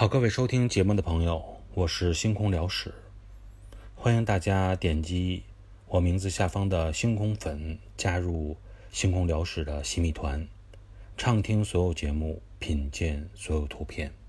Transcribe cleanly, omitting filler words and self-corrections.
好，各位收听节目的朋友，我是星空聊史，欢迎大家点击我名字下方的星空粉，加入星空聊史的洗米团，畅听所有节目，品鉴所有图片。